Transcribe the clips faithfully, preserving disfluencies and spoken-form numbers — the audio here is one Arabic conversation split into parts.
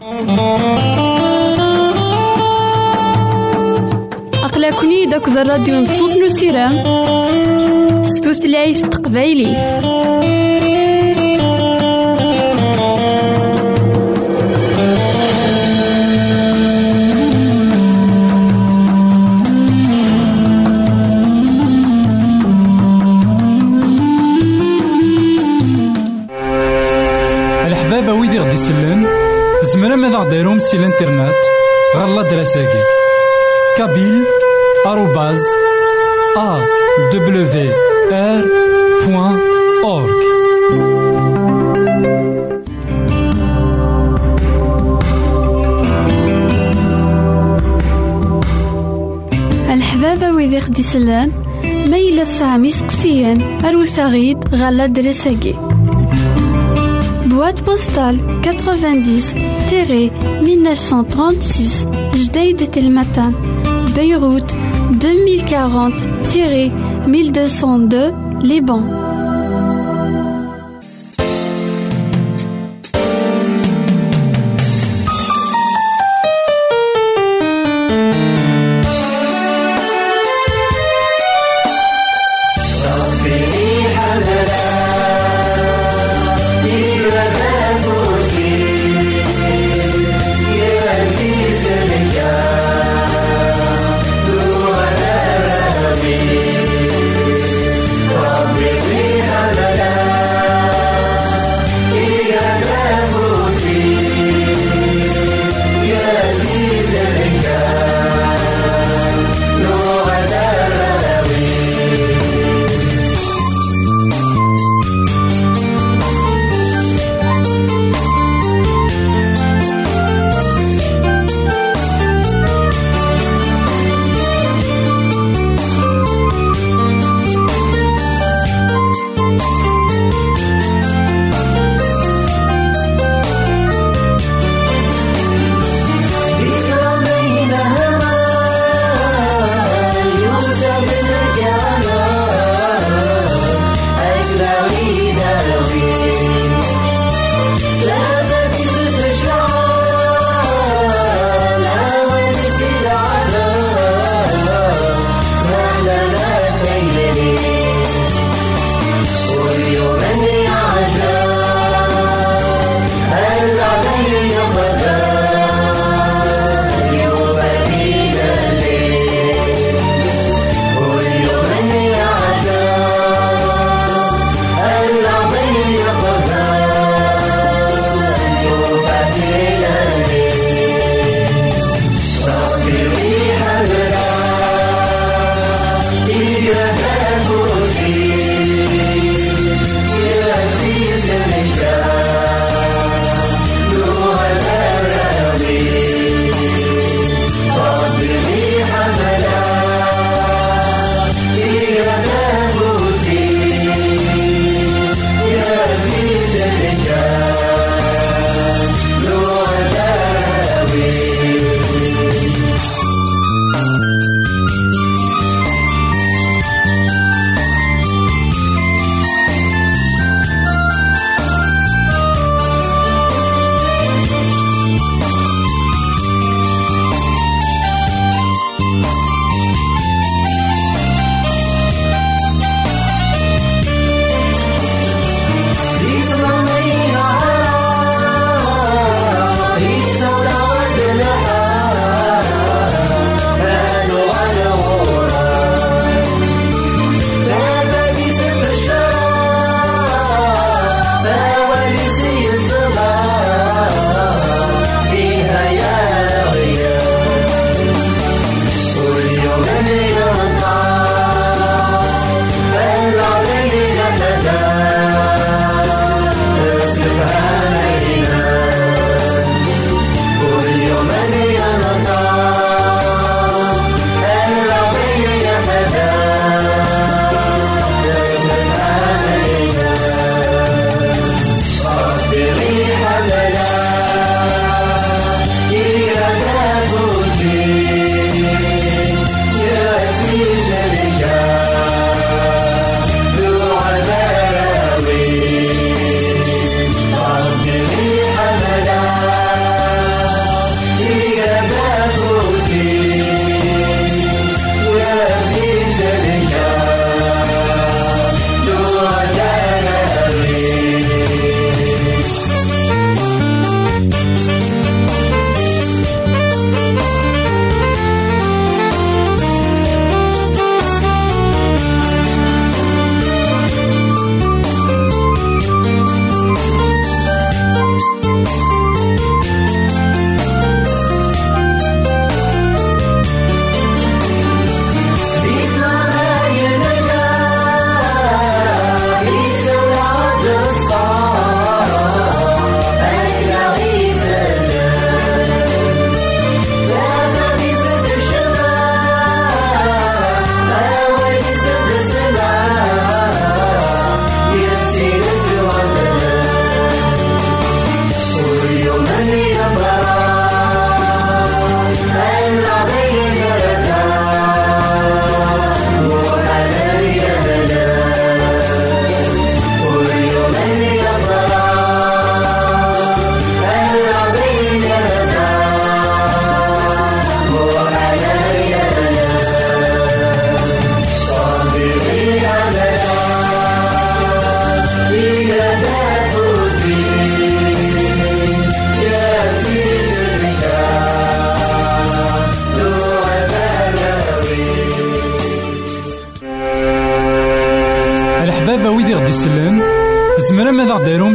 أقلكني داك الراديو نصوص نسيران ستوثلايف تقبايلي. الحبابة ويدي غدي يسلن زمرا ماذا غديرهم سي الانترنت غالا دراساكي كابيل آروباز أ دبليو آر بوان أورك. الحبابة ويدي غدي يسلن ميلا سامي سقسيان أروساغيد غالا دراساكي boîte postale quatre-vingt-dix mille neuf cent trente-six Jdeïd Telmatan Beyrouth deux mille quarante mille deux cent deux Liban. Baby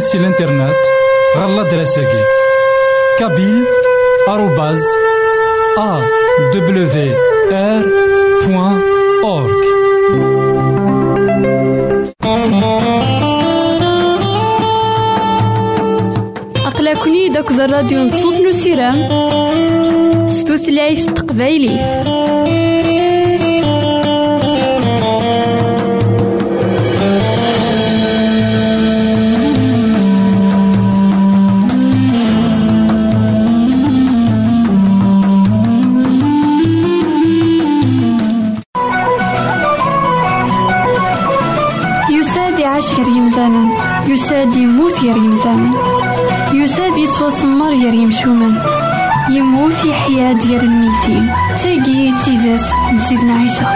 سي الانترنت غالا دراساكي كابيل آروباز أ دبليو آر بوان أورك. أقلكني داك الراديو نصوص نسيرام ستوثلايف تقبايلي. يساد يموت يا ريمزان، يساد يتوسمر يا ريمشومن، يموت يحيا ديال الميتين. تاقي تيزات لسيدنا عيسى.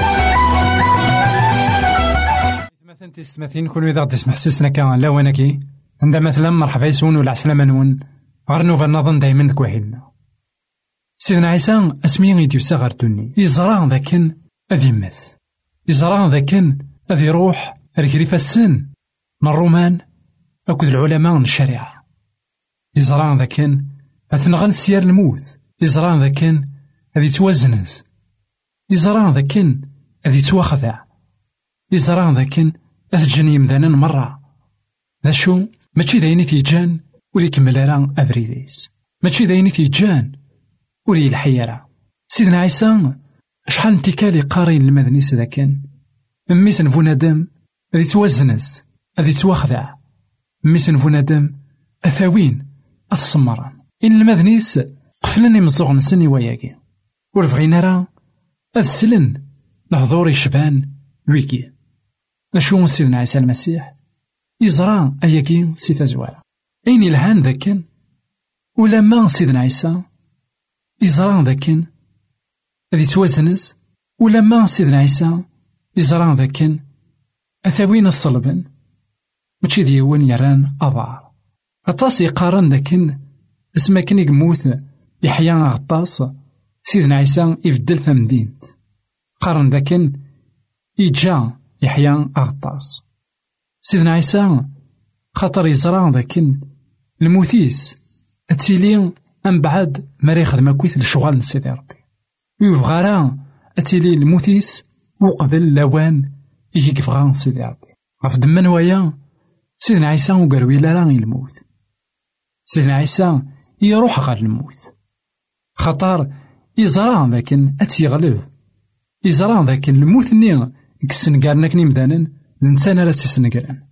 مثلا تستمثين كل إذا تسمح سسنا كان لا ونكي عندما مثلا مرحبا يسون ولا عسلامة نون غير نوفا نظن دايما ذك واحدنا. سيدنا عيسى اسمي غيديو صغر توني يزرع ذاكن أذي يمس، يزرع ذاكن أذي يروح ركريف السن من الرومان أكد العلماء من الشريعة. يزرع ذاكن أثنغن سيار الموت، يزرع ذاكن أذي توزنز، يزرع ذاكن أذي تواخذع، يزرع ذاكن أثجن يمذانا مرة. ذا شو ماشي دايني تيجان ولي كمل راه أفريديس، ماشي دايني تيجان ولي الحيرة. سيدنا عيسى شحال انتكالي قارين المدنيس ذاكن ميس نفونادم أذي توزنز أذي تواخذع، ميس نفونادم أثاوين أتصمران إن المدنيس قفلني مزوغ نسني وياكي ورفغينا راه أذسلن لهضور يشبان ويكي. أشو سيدنا عيسى المسيح يزرع أياكي سي تزوارا أين الهان ذاكن ولما سيدنا عيسى يزرع ذاكن أذي توزنز، ولما سيدنا عيسى يزرع ذاكن أثاوين الصلبن ماشي ديوان يران أضار. أطاس يقارن ذاكن اسما كان يموت يحيى غطاس سيدنا عيسى يفدل ثمدينت، قارن ذاكن يجا يحيى غطاس. سيدنا عيسى خاطر يزرع ذاكن الموتيس أتيلي أم بعد مري خدمة كويت لشغال سيدي ربي يبغى راه أتيلي الموتيس وقبل لوان يجي كفغان سيدي ربي غف دمان ويا سيدنا عيسى وقروي لا راه الموت. سيدنا عيسى يروح غير الموت خاطر يزرع ذاكن أتيغلب، يزرع ذاكن الموت ني كسنقارنا كني مدانا الإنسان لا تسنقران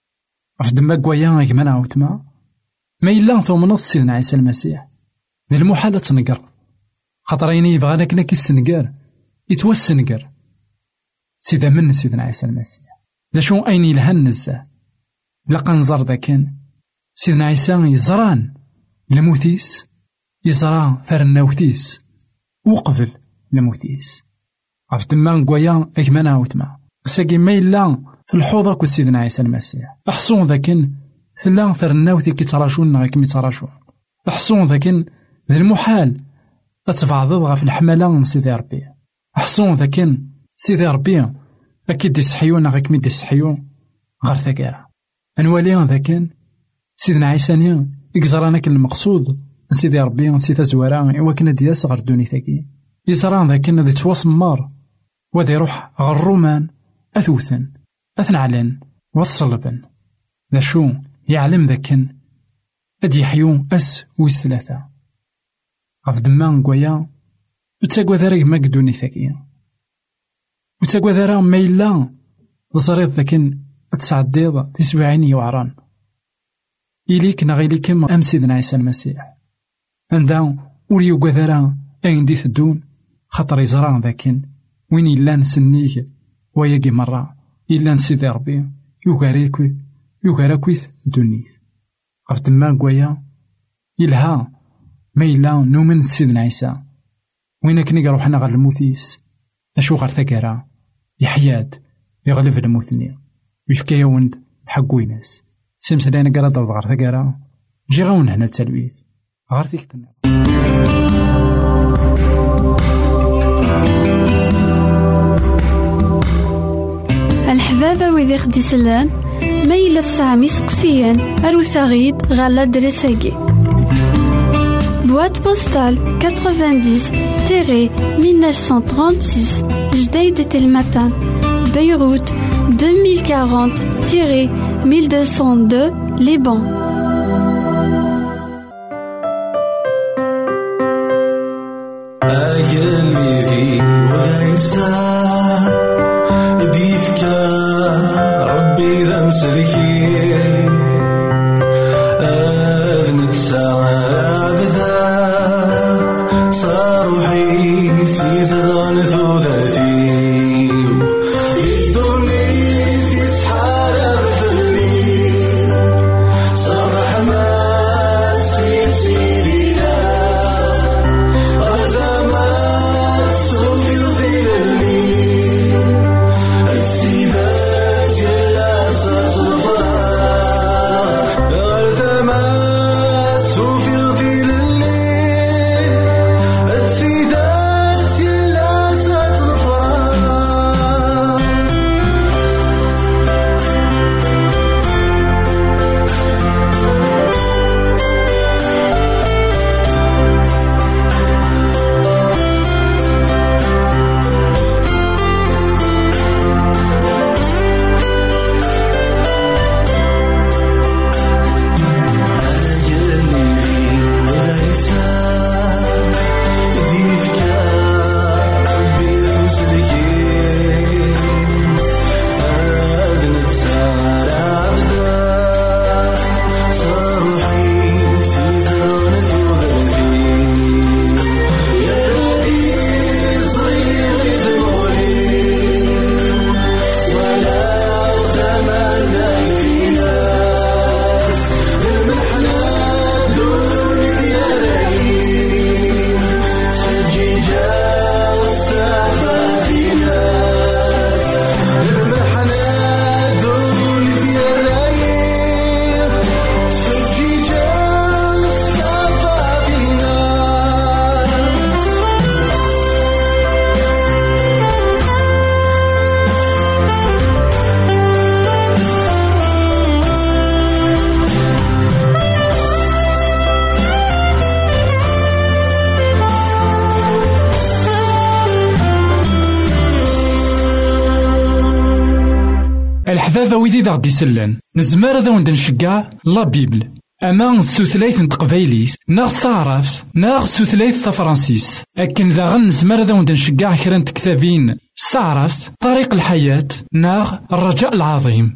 غف دماك ويا كمان عاوتما ما إلا ثم نص سيدنا عيسى المسيح ذي المحالة تنقر خاطر يني يبغانا كنا كيسنقار يتوسنقر سيدا من سيدنا عيسى المسيح. دا شو أين يلهن نزاه لقا نزار ذاكن سيدنا عيسى يزران لموتيس، يزران ثرناوتيس وقبل لموتيس غف دمان قويا أكمان عاوتما ساقي ما إلا في الحوضة كو سيدنا عيسى المسيح. أحصون ذاكن ثلا ثرناوتي كي تراشون غاكمي تراشون، أحصون ذاكن ذي المحال أتفعضض غف الحملة من سيدي ربي، أحصون ذاكن سيدي ربي أكيد يسحيون غاكمي ديسحيون غير ثقيرة. أنوالي ذاكن سيدنا عيسى نيا يكزرانا كل المقصود سيدي ربي سيتا زوارا إوا كنا دياس غير دوني ثاكي يزران ذاكن ذي تواسمار وذي يروح غير الرومان أثوثن أثنعلن والصلبن. ذا شو يعلم ذاكن أد يحيون أس ويس ثلاثة غف دمان قويا وتاقوى ذارك ما قدوني ثاكيا وتاقوى ذارا ما إلا تصريط ذاكن تسعديض تسبعين يوعران إليك نغيليكم أم سيدنا عيسى المسيح عندها وليو قذرا أين دي ثدون خطر يزران ذاكن وين إلا نسنيه وياقي مرة إلا نسيدي ربي يوغاريكوي يوغاراكويث دونيث غف دمان قويا إلها ما إلا نومن سيدنا عيسى وين كني روحنا غير الموتيس أشو غير ثقارا يحياد يغلب الموتني ويفكا وند حق ويناس سمس دانا قرا دوض غير ثقارا جي غاون هنا التلويث غير ثيكتنا. الحبابة ويدي خدي سلان ميل السامي سقسيان أروساغيد غالا درساجي. Boîte postale quatre-vingt-dix mille neuf cent trente-six Jdeï de Telmatan, Beyrouth deux mille quarante mille deux cent deux Liban. الحبابة ويدي ذا غدي سلان نزمار ذا وند نشقع لا بيبل أما ستثليث نتقبايليث ناغ ستعرف ناغ ستثليث تفرانسيس أكن ذا غن نزمار ذا وند نشقع كران كتابين ستعرف طريق الحياة ناغ الرجاء العظيم.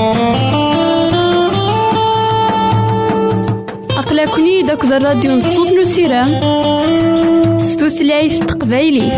أقلكني داك ذا الراديو نصوص نسيران ستثليث تقبايليث.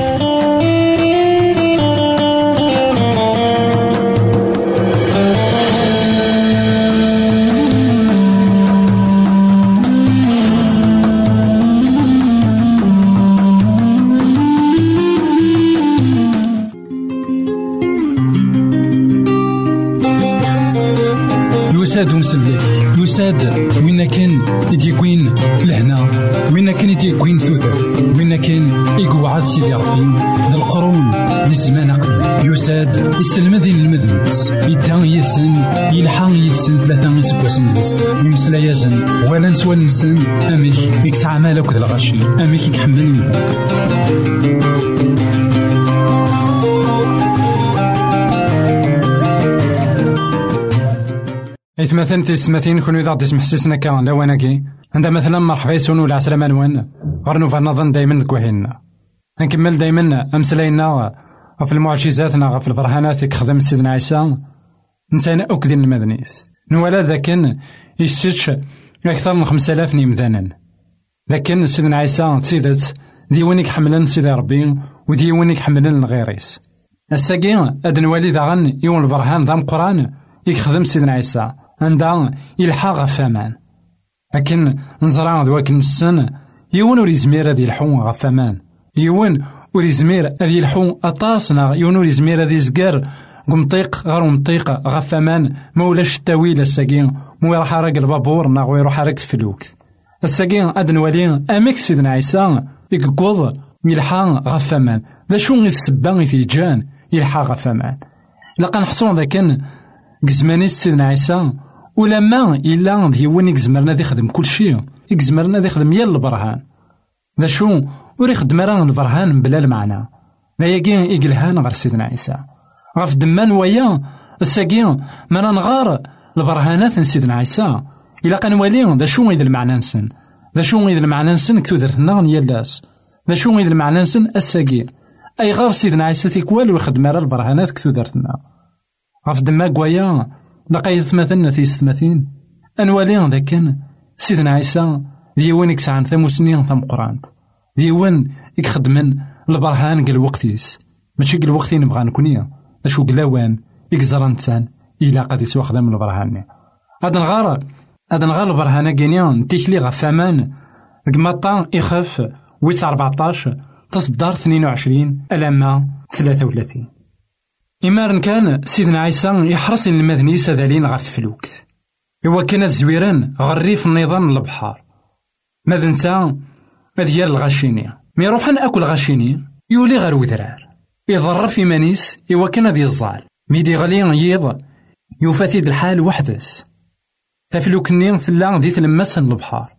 يساد ومسلي يساد وين كان يديكوين لهنا وين كان يديكوين ثوث وين كان يقعد سيدي ربي للقرون للزمان قبل يساد يستلمذين المذنبس يدان يسن يلحان يسن ثلاثة يسبوسن بس يمسلا يزن ولا نسوى نسن أميك يكسع مالك ذا الغشي أميك يكحملني إثمثل تسمثين كونوا إذا تسمح سيسنا كان لواناكي عندما مثلا مرحبا يسونوا العسلامة نوان غرنو فنظن دايما كوهينا نكمل دايما أمسلاينا في المعجزاتنا في البرهانات يخدم سيدنا عيسى نسينا أكدين المدنيس نولا ذاكن يشتش أكثر من خمسة آلاف نيمذانا لكن سيدنا عيسى تسيدت ديوانيك حملن سيدي ربي وديوانيك حملن الغيريس الساقين أدن والي ذاغن يوم البرهان ذا القرآن يخدم سيدنا عيسى عندها يلحق غفامان لكن نزرع ذواك السن يون وريزمير هذه الحون غفامان يون وريزمير هذه الحون أطاسنا يون وريزمير هذه زقار قمطيق غير مطيق غفامان مولاش التاويل الساقين مو يروح حرق البابور ناغ ويروح حرق الفلوك الساقين أدن ولين أميك سيدنا عيسى يقوض يلحق غفامان ذا شو غير السبان يتيجان يلحق غفامان لقا نحصون ذاكن قزماني سيدنا عيسى ولما إلا ديوان يقزمرنا دي خدم كل شيء يقزمرنا دي خدم يال البرهان ذا شو وري خدم راه البرهان بلا المعنى ذا يقين إقلهان غير سيدنا عيسى غاف دمان ويا الساقين ما نغار البرهانات سيدنا عيسى إلا كان والين ذا شو إذا المعنى نسن ذا شو إذا المعنى نسن كتو درتنا يالاس ذا شو إذا المعنى نسن الساقين أي غير سيدنا عيسى تيكوال ويخدم راه البرهانات كتو درتنا غاف دما قويا لقايت ثمثلنا في ستماثين أنوالين ذا كان سيدنا عيسى ديوان يكسعن ثمو سنين ثم قرانت ديوان يخدمن البرهان قال وقتيس ماشي قال وقتي نبغى نكونيا اشو قلاوان يكزران تسان إلا قد يسوى خدم البرهان هذا نغار هذا نغار البرهان كينيا تيكلي غفامان قمطان يخف ويس أربعطاش تصدر اثنين وعشرين ألما ثلاثة وثلاثين إمارن كان سيدنا عيسى يحرص المذني سذالين غير تفلوكت إوا كانت زويران غريف النظام البحار ماذا نتا ديال الغاشيني مي روحان أكل غاشيني يولي غير وذرار يضر في مانيس إوا كان ذي الزال ميدي غلي يض يفاتيد الحال وحدس تفلوكني ثلا ذي تلمسن البحار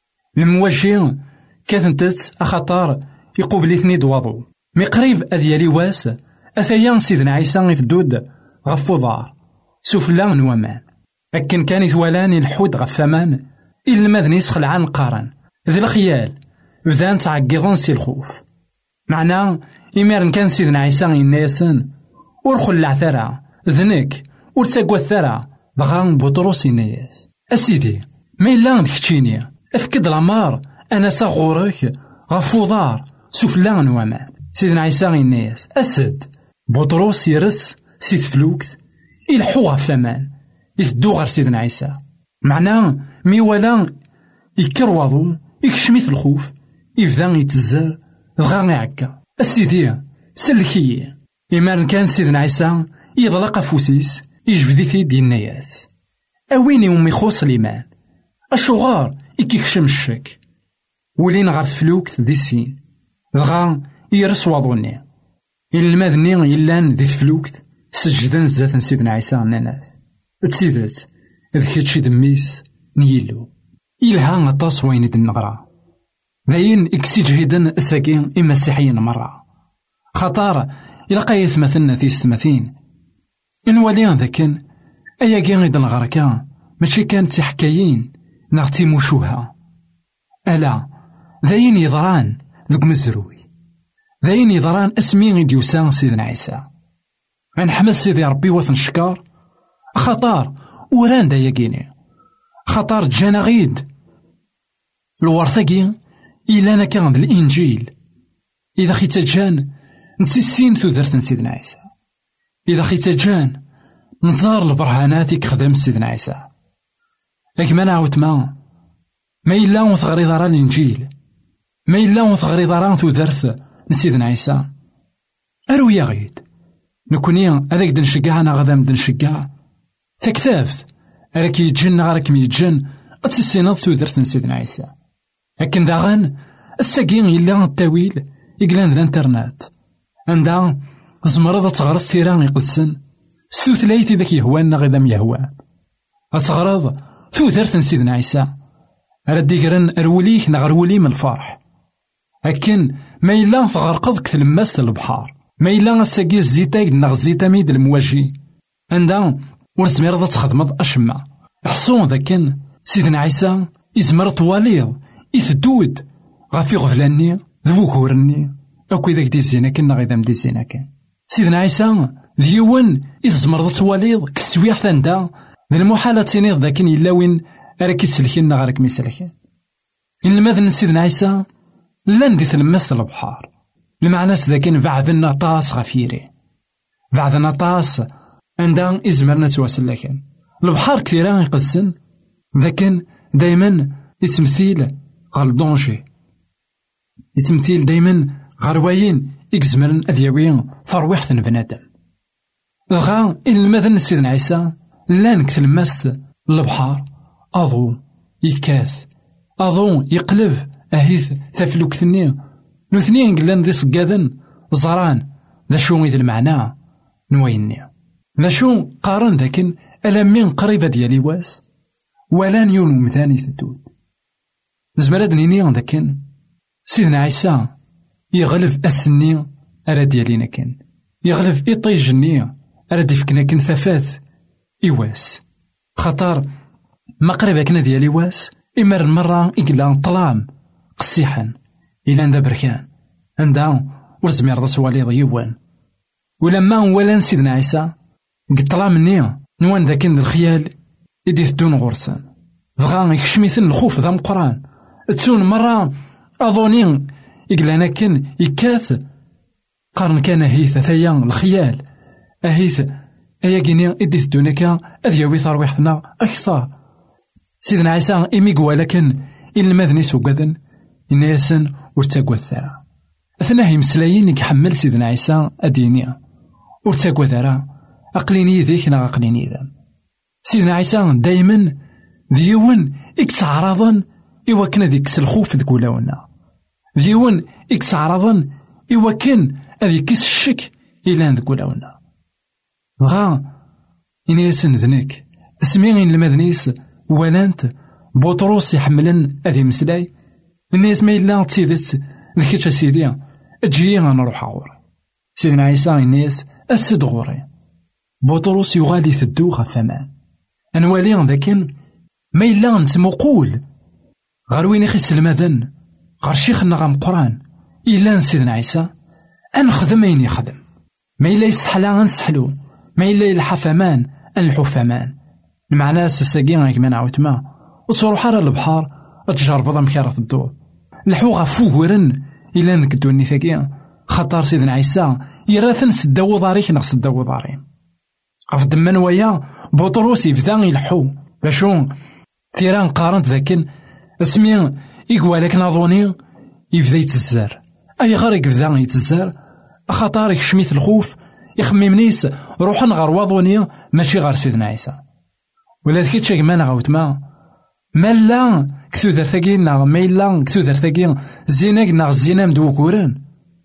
الموجه كاثنتت أخطار يقوبلي ثنيد وضو مي قريب أذيالي واس أثيان سيدنا عيسى يثدود غف وضار سفلا نوامان أكن كان يثوالاني الحود غف ثمان إلا ماذن يسخل عن قارن ذي الخيال وذان تعقضن سي الخوف معناه إمارن كان سيدنا عيسى يناسن ورخل العثرة ذنك ورتقوى الثرى بغان بطروس يناس أسيدي ما إلا ذكتشيني أفكد العمار أنا صغورك غف وضار سفلا نوامان سيدنا عيسى يناس أسد بطروس يرس سيد فلوكت يلحوها فمان يثدو غير سيدنا عيسى معناه مي ولا يكروضو يكشميت الخوف يبدا يتزر دغا يعكا السيدي سلكي إما كان سيدنا عيسى يضلق فوسيس يجبدي في دين الناس أويني ومي خوص الإيمان الشغار يكيكشم الشك ولين غير فلوكت دي السين دغا يرس وضوني إلا الماذني يلان ذي تفلوكت سجدن زات سيدنا عيسى الناس تسيدات ذكرتشي دميس نيلو إلها غطاس وين النغرة ذاين إكسي جهدن الساكين إما السيحيين مرة خطار إلا قايث مثلنا في ستماثين إن واليان ذاكن أيا كان غيد الغركان ماشي كانت تحكايين نغتي موشوها ألا ذاين يضران ذوك مزروي ذاين يضران اسمي غيد يوسان سيدنا عيسى غنحمد سيدي ربي وثن شكار خطار وران دا يقيني خطار جانا غيد الورثاقي إلا أنا كان ذا الإنجيل إذا خيت جان نسيسين ثودرت سيدنا عيسى إذا خيت جان نزار البرهانات كخدم سيدنا عيسى لكن ما نعاود ما ما إلا وثغري ضرا الإنجيل ما إلا وثغري ضرا ثودرت سيدنا عيسى أرو يا غيد نكوني هذاك دنشقع أنا غدا مدنشقع تكتافت راك يتجن غارك ميتجن أتسيناض ثودرت سيدنا عيسى لكن داغن الساقين إلا التاويل يقلان الانترنت عندها زمرض تغرض ثيران يقدسن ستوث ليتي ذاك يهوانا غدا ميهوان أتغرض ثودرت سيدنا عيسى ردي قرن أروليك نغرولي من الفرح لكن ما إلا تغرقض كثلماس البحار ما إلا الساقي الزيتايد نغ الزيتاميد المواجي عندها ورزمير تخدمض أشما حصون ذاكن سيدنا عيسى يزمر طواليض يثدود غافي غفلاني ذوكورني أكو ذاك دي الزينة كنا غيدا مدي الزينة كان سيدنا عيسى ذيون يزمر طواليض كسويح ثاندا ذي المحالة تينيض ذاكن إلا وين راك يسلكين غارك ميسلكين إن الماذن سيدنا عيسى لان دي تلمست البحار المعناس ذاكن بعدنا طاس غفيري بعدنا طاس عندها إزمرنا تواصل لكن البحار كثيرا يقدسن ذاكن دايما يتمثيل غال دونجي يتمثيل دايما غروايين إكزمرن أذيوين فرويحة بنادم غا إن المذن سيدنا عيسى لان كثلمست البحار أضو يكاث أضو يقلب أهيث ثفلوك ثنين نثنين قلان ذي سقاذن زران ذا شو إذا المعنى نويني ذا شو قارن ذاكن ألا من قريبة ديالي واس ولا نيون مثاني ثدود. زمراد نيني ذاكن سيدنا عيسى يغلب أسني أرا ديالينا كان يغلب إطيج النية أرا ديفكنا كن ثفاث إواس خطر ما قريبا كنا ديالي واس إمر المرة إقلا طلام قصيحا إلا عند بركان عندها ورزمي رضا سوالي ضيوان ولما ولا سيدنا عيسى قطلام النية نوان ذاكن الخيال يدي ثدون غرسان ضغا يكشميثن الخوف ذا مقران تسون مرة أظنين إقلانا كن يكاث قارن كان هيث ثيان الخيال أهيث أيا كيني إدي ثدونك أذيوي ثرويحتنا أكثر. سيدنا عيسى إمي قوالكن إن المذني سوقذن إن ياسن ورتاقوى الثرى أثناه يمسلايين يحمل سيدنا عيسى أدينيا ورتاقوى ثرى أقليني ذيك نا أقليني ذا. سيدنا عيسى دايما ذيون إكس عراضا إوا كنا ديكس الخوف ذكولاونا ذيون إكس عراضا إوا كان أذي كيس الشك إلا ذكولاونا غا إن ياسن ذنك اسمين المذنيس ولانت بطروس يحملن أذي مسلاي الناس ما إلا تسيدت ذكيتش سيدي أجي غنروح غوري. سيدنا عيسى الناس أسد غوري بطروس يغالي ثدو غفمان أنوالي ذاكن ما إلا نتمقول غير وين يخس المذن غير شيخنا غام قران إلا سيدنا عيسى أنخدم أين يخدم ما إلا يسحلا غنسحلو ما إلا الحفمان الحفمان المعنى سساقين غيك ما نعاود ما وتروح على البحر تجرب ضم كارث الدور الحوغة فوغرن إلا نكدو النثاقيا خطر سيدنا عيسى يراثن سداو ضاريك نغ سداو ضارين غف دمان ويا بطروس يبدا يلحو باشو ثيران قارنت ذاكن اسمي إقوالك ناظوني يبدا يتزار أي غير يبدا يتزار خطر يكشميت الخوف يخممنيس روحن غير واضوني ماشي غير سيدنا عيسى ولا ذكيت شاك ما نغاوت ما مالا كثو درتاكين ناغ مالا كثو درتاكين زيناك ناغ الزينام دوكوران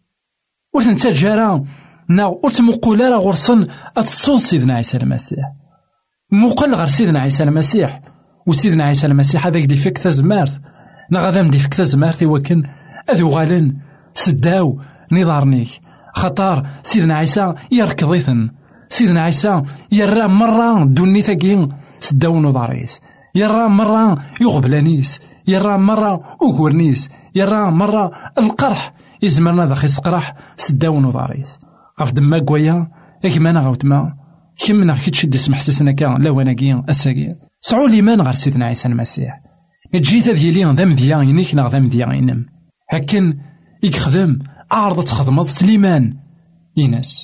ورثن جارا ناغ ورتمقولا راه غرسن أتصوص سيدنا عيسى المسيح مقل غير سيدنا عيسى المسيح وسيدنا عيسى المسيح هذاك دي فيك تزمارت ناغ هذا مدي فيك تزمارت وكن أذو غالن سداو نظارنيك خطار سيدنا عيسى يركضيثن سيدنا عيسى يرى مرة دوني ثاقين سداو نظاريس يرى مرة يغبلانيس يرى مرة أقورنيس يرى مرة القرح يزمرنا ذا خيس قرح سداو نظاريس غف دما قويا إكما نغوت ما كمنا كي تشد اسم حسسنا كان لا وناكيا الساقيا سعو ليمان غير سيدنا عيسى المسيح جيت ديالي ذا مذيان ينيك نغ ذا مذيان ينم هكن يخدم عارضة تخدمض سليمان يناس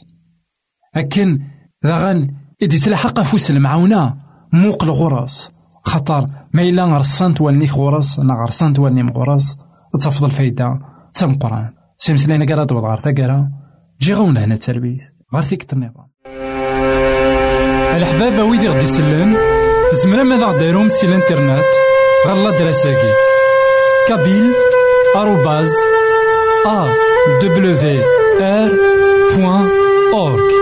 هكن ذا غن إدي تلحق فوس المعونة موق الغرس خطر ما إلا غرسانت والنيك غرس نا غرسانت والنيم غرس تفضل الفايدة تم قران سيمس لينا قرات وضغار ثقرا جي غونا هنا التربية غير ثيك النظام الحبابة ويدي غدي سلان زمرا ماذا غديرهم سي الانترنت غالا دراساكي كابيل آروباز أ دبليو آر بوان أورك.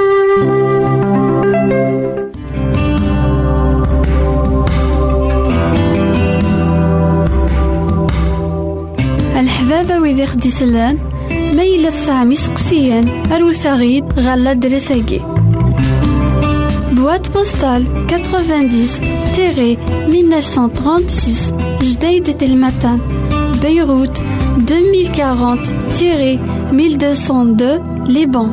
الحبابة ويدي خدي سلان ميلا السامي سقسيان أروثاغيد غالا دراساكي boîte postale quatre-vingt-dix mille neuf cent trente-six Jdeïd Tel Matan Beyrouth deux mille quarante mille deux cent deux Liban.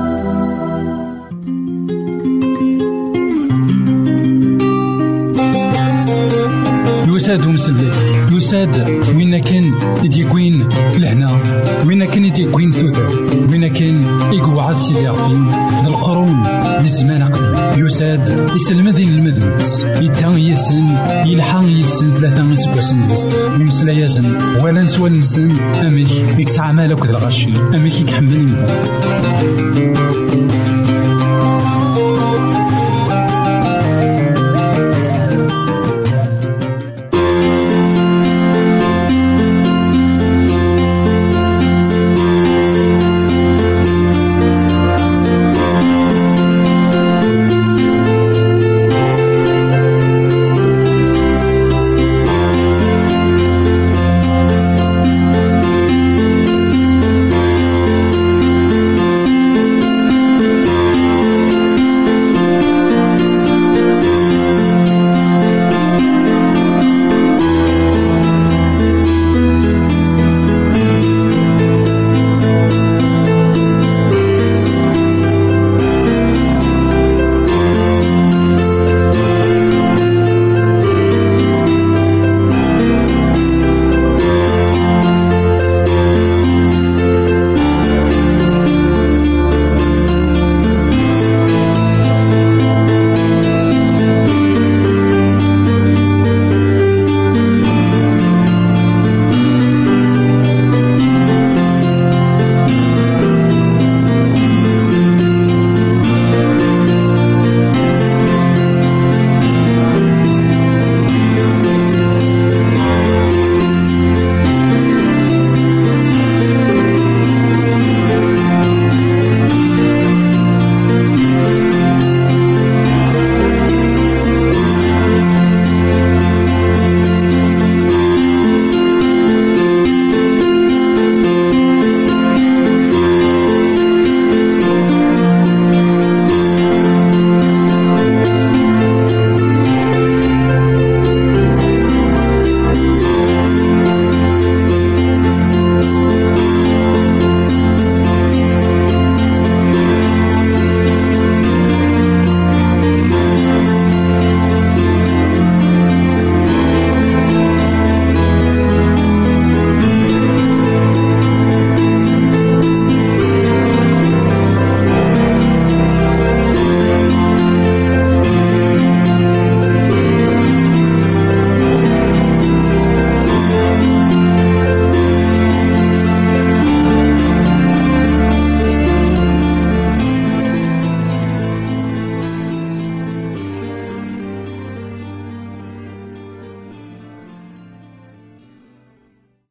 يساد ومسلي يساد وين كان يديكوين لهنا وين كان يديكوين ثوث وين كان يقعد سيدي عقيم القرون للزمان عقيم يساد يستلمذين المذنبس يدان يسن يلحان يسن ثلاثة من سبوسن يمسلا يزن ولا نسوى نسن أميك يكسع مالك ذا الغشي أميك يكحمل